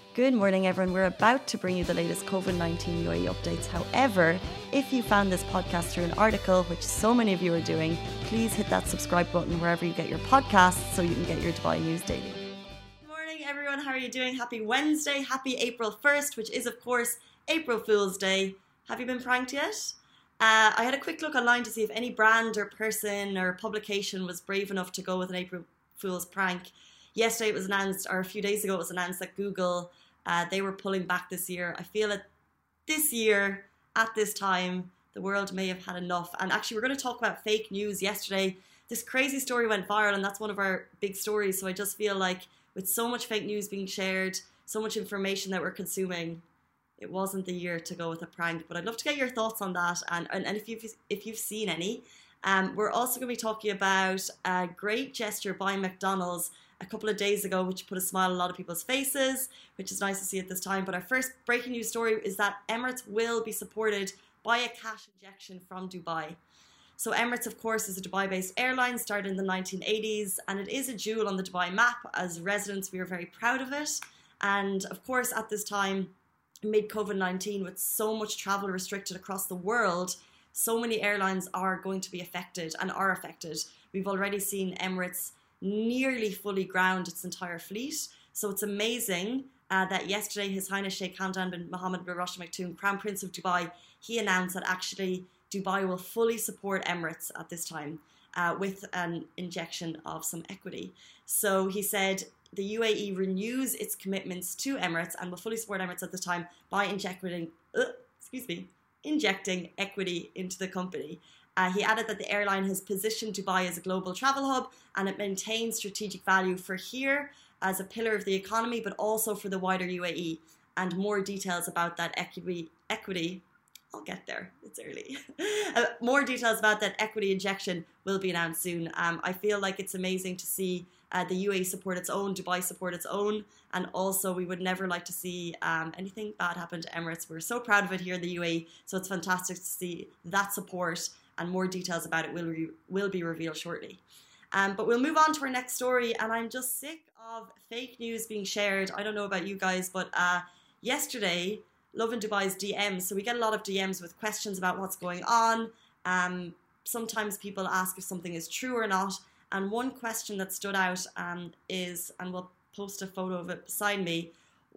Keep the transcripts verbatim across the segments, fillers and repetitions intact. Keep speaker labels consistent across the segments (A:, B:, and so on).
A: Good morning, everyone. We're about to bring you the latest COVID nineteen U A E updates. However, if you found this podcast through an article, which so many of you are doing, please hit that subscribe button wherever you get your podcasts so you can get your Dubai news daily. Good morning, everyone. How are you doing? Happy Wednesday. Happy April first, which is, of course, April Fool's Day. Have you been pranked yet? Uh, I had a quick look online to see if any brand or person or publication was brave enough to go with an April Fool's prank. Yesterday it was announced, or a few days ago it was announced that Google, uh, they were pulling back this year. I feel that this year, at this time, the world may have had enough. And actually we're going to talk about fake news. Yesterday, this crazy story went viral and that's one of our big stories. So I just feel like with so much fake news being shared, so much information that we're consuming, it wasn't the year to go with a prank. But I'd love to get your thoughts on that and, and, and if, you've, if you've seen any. Um, we're also going to be talking about a great gesture by McDonald's a couple of days ago, which put a smile on a lot of people's faces, which is nice to see at this time. But our first breaking news story is that Emirates will be supported by a cash injection from Dubai. So Emirates, of course, is a Dubai-based airline, started in the nineteen eighties, and it is a jewel on the Dubai map. As residents, we are very proud of it. And of course, at this time, mid COVID nineteen, with so much travel restricted across the world, so many airlines are going to be affected and are affected. We've already seen Emirates nearly fully ground its entire fleet. So it's amazing uh, that yesterday His Highness Sheikh Hamdan bin Mohammed bin Rashid Al Maktoum, Crown Prince of Dubai, he announced that actually Dubai will fully support Emirates at this time uh, with an injection of some equity. So he said the U A E renews its commitments to Emirates and will fully support Emirates at this time by injecting, uh, excuse me, injecting equity into the company. Uh, he added that the airline has positioned Dubai as a global travel hub and it maintains strategic value for here as a pillar of the economy, but also for the wider U A E. And more details about that equity, equity I'll get there, it's early. uh, more details about that equity injection will be announced soon. Um, I feel like it's amazing to see uh, the U A E support its own, Dubai support its own, and also we would never like to see um, anything bad happen to Emirates. We're so proud of it here in the U A E, so it's fantastic to see that support, and more details about it will, re will be revealed shortly. Um, but we'll move on to our next story, and I'm just sick of fake news being shared. I don't know about you guys, but uh, yesterday, Lovin Dubai's D Ms, so we get a lot of D Ms with questions about what's going on. Um, sometimes people ask if something is true or not, and one question that stood out um, is, and we'll post a photo of it beside me,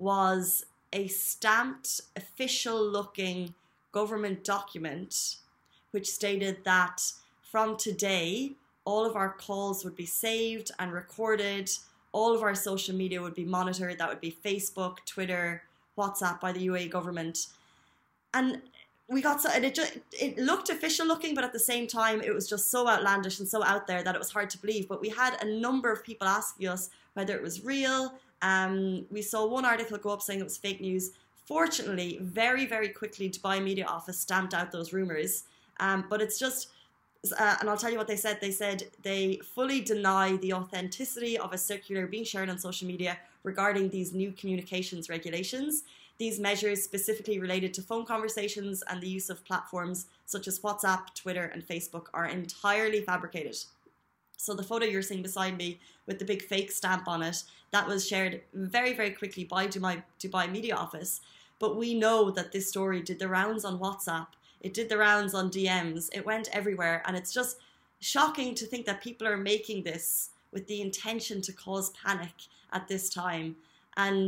A: was a stamped, official-looking government document which stated that from today, all of our calls would be saved and recorded, all of our social media would be monitored. That would be Facebook, Twitter, WhatsApp by the U A E government. And we got so, and it just, it looked official looking, but at the same time, it was just so outlandish and so out there that it was hard to believe. But we had a number of people asking us whether it was real. Um, we saw one article go up saying it was fake news. Fortunately, very, very quickly, Dubai Media Office stamped out those rumors. Um, but it's just, uh, and I'll tell you what they said. They said they fully deny the authenticity of a circular being shared on social media regarding these new communications regulations. These measures specifically related to phone conversations and the use of platforms such as WhatsApp, Twitter, and Facebook are entirely fabricated. So the photo you're seeing beside me with the big fake stamp on it, that was shared very, very quickly by Dubai, Dubai Media Office. But we know that this story did the rounds on WhatsApp. It did the rounds on D Ms. It went everywhere. And it's just shocking to think that people are making this with the intention to cause panic at this time. And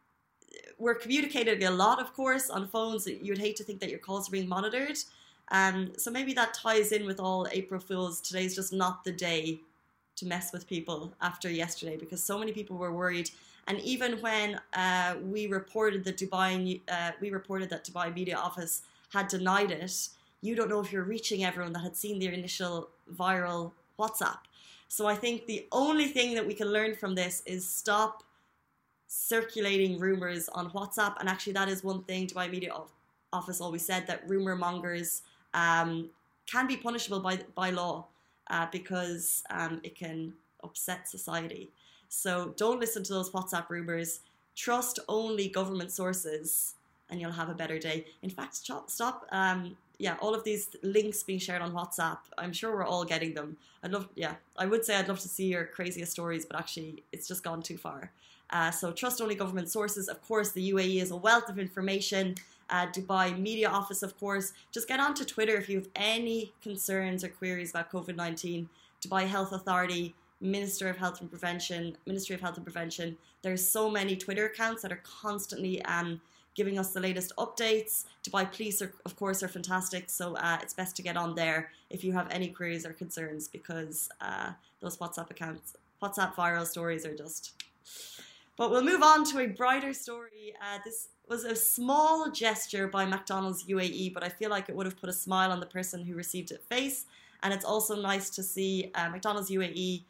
A: we're communicating a lot, of course, on phones. You'd hate to think that your calls are being monitored. Um, so maybe that ties in with all April Fools. Today's just not the day to mess with people after yesterday, because so many people were worried. And even when uh, we reported that Dubai, uh, we reported that Dubai Media Office had denied it, you don't know if you're reaching everyone that had seen the initial viral WhatsApp. So I think the only thing that we can learn from this is stop circulating rumors on WhatsApp. And actually that is one thing Dubai Media Office always said, that rumor mongers um, can be punishable by, by law uh, because um, it can upset society. So don't listen to those WhatsApp rumors. Trust only government sources and you'll have a better day. In fact, stop, stop um, yeah, all of these links being shared on WhatsApp. I'm sure we're all getting them. I'd love, yeah, I would say I'd love to see your craziest stories, but actually it's just gone too far. Uh, so trust only government sources. Of course, the U A E is a wealth of information. Uh, Dubai Media Office, of course. Just get onto Twitter if you have any concerns or queries about COVID nineteen. Dubai Health Authority, Minister of Health and Prevention, Ministry of Health and Prevention. There's so many Twitter accounts that are constantly um, giving us the latest updates. Dubai Police, are, of course, are fantastic. So uh, it's best to get on there if you have any queries or concerns, because uh, those WhatsApp accounts, WhatsApp viral stories are just... But we'll move on to a brighter story. Uh, this was a small gesture by McDonald's U A E, but I feel like it would have put a smile on the person who received it face. And it's also nice to see uh, McDonald's U A E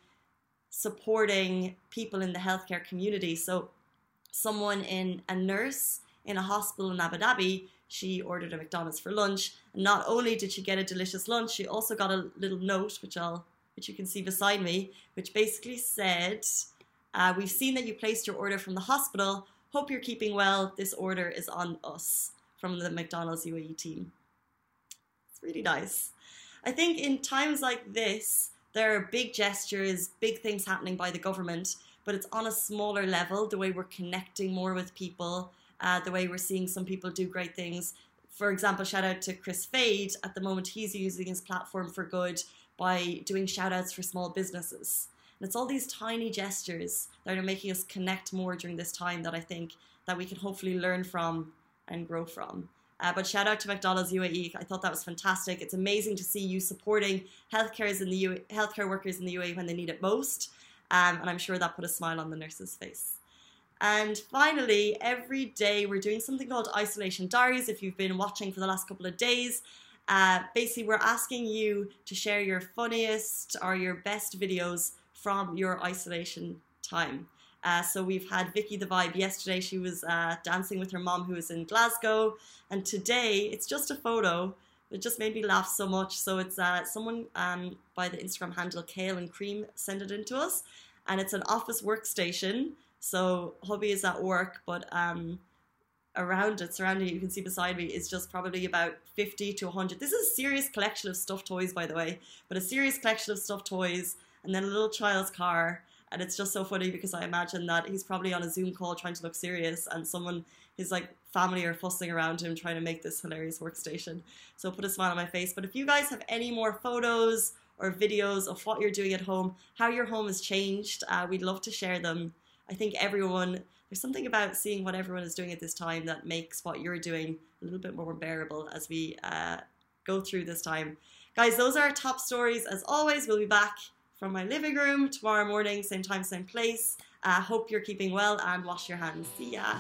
A: supporting people in the healthcare community. So someone in a nurse in a hospital in Abu Dhabi, she ordered a McDonald's for lunch. And not only did she get a delicious lunch, she also got a little note, which I'll, which you can see beside me, which basically said, uh, we've seen that you placed your order from the hospital. Hope you're keeping well. This order is on us, from the McDonald's U A E team. It's really nice. I think in times like this, there are big gestures, big things happening by the government, but it's on a smaller level, the way we're connecting more with people, uh, the way we're seeing some people do great things. For example, shout out to Chris Fade. At the moment, he's using his platform for good by doing shout outs for small businesses. And it's all these tiny gestures that are making us connect more during this time that I think that we can hopefully learn from and grow from. Uh, but shout out to McDonald's U A E. I thought that was fantastic. It's amazing to see you supporting healthcare in the U A E, healthcare workers in the U A E when they need it most. Um, and I'm sure that put a smile on the nurse's face. And finally, every day we're doing something called Isolation Diaries. If you've been watching for the last couple of days, uh, basically we're asking you to share your funniest or your best videos from your isolation time. Uh, so we've had Vicky the Vibe yesterday. She was uh, dancing with her mom who was in Glasgow. And today, it's just a photo. It just made me laugh so much. So it's uh, someone um, by the Instagram handle Kale and Cream sent it in to us. And it's an office workstation. So hubby is at work, but um, around it, surrounding it, you can see beside me, is just probably about fifty to one hundred. This is a serious collection of stuffed toys, by the way. But a serious collection of stuffed toys. And then a little child's car. And it's just so funny because I imagine that he's probably on a Zoom call trying to look serious and someone, his like family are fussing around him trying to make this hilarious workstation. So put a smile on my face. But if you guys have any more photos or videos of what you're doing at home, how your home has changed, uh, we'd love to share them. I think everyone, there's something about seeing what everyone is doing at this time that makes what you're doing a little bit more bearable as we uh, go through this time. Guys, those are our top stories. As always, we'll be back from my living room tomorrow morning, same time, same place. Uh, hope you're keeping well and wash your hands. See ya.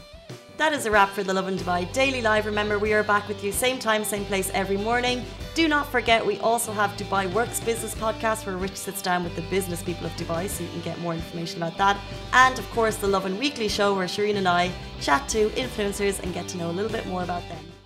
A: That is a wrap for the Lovin Dubai Daily Live. Remember, we are back with you same time, same place every morning. Do not forget, we also have Dubai Works Business Podcast where Rich sits down with the business people of Dubai so you can get more information about that. And of course, the Lovin Weekly Show where Shireen and I chat to influencers and get to know a little bit more about them.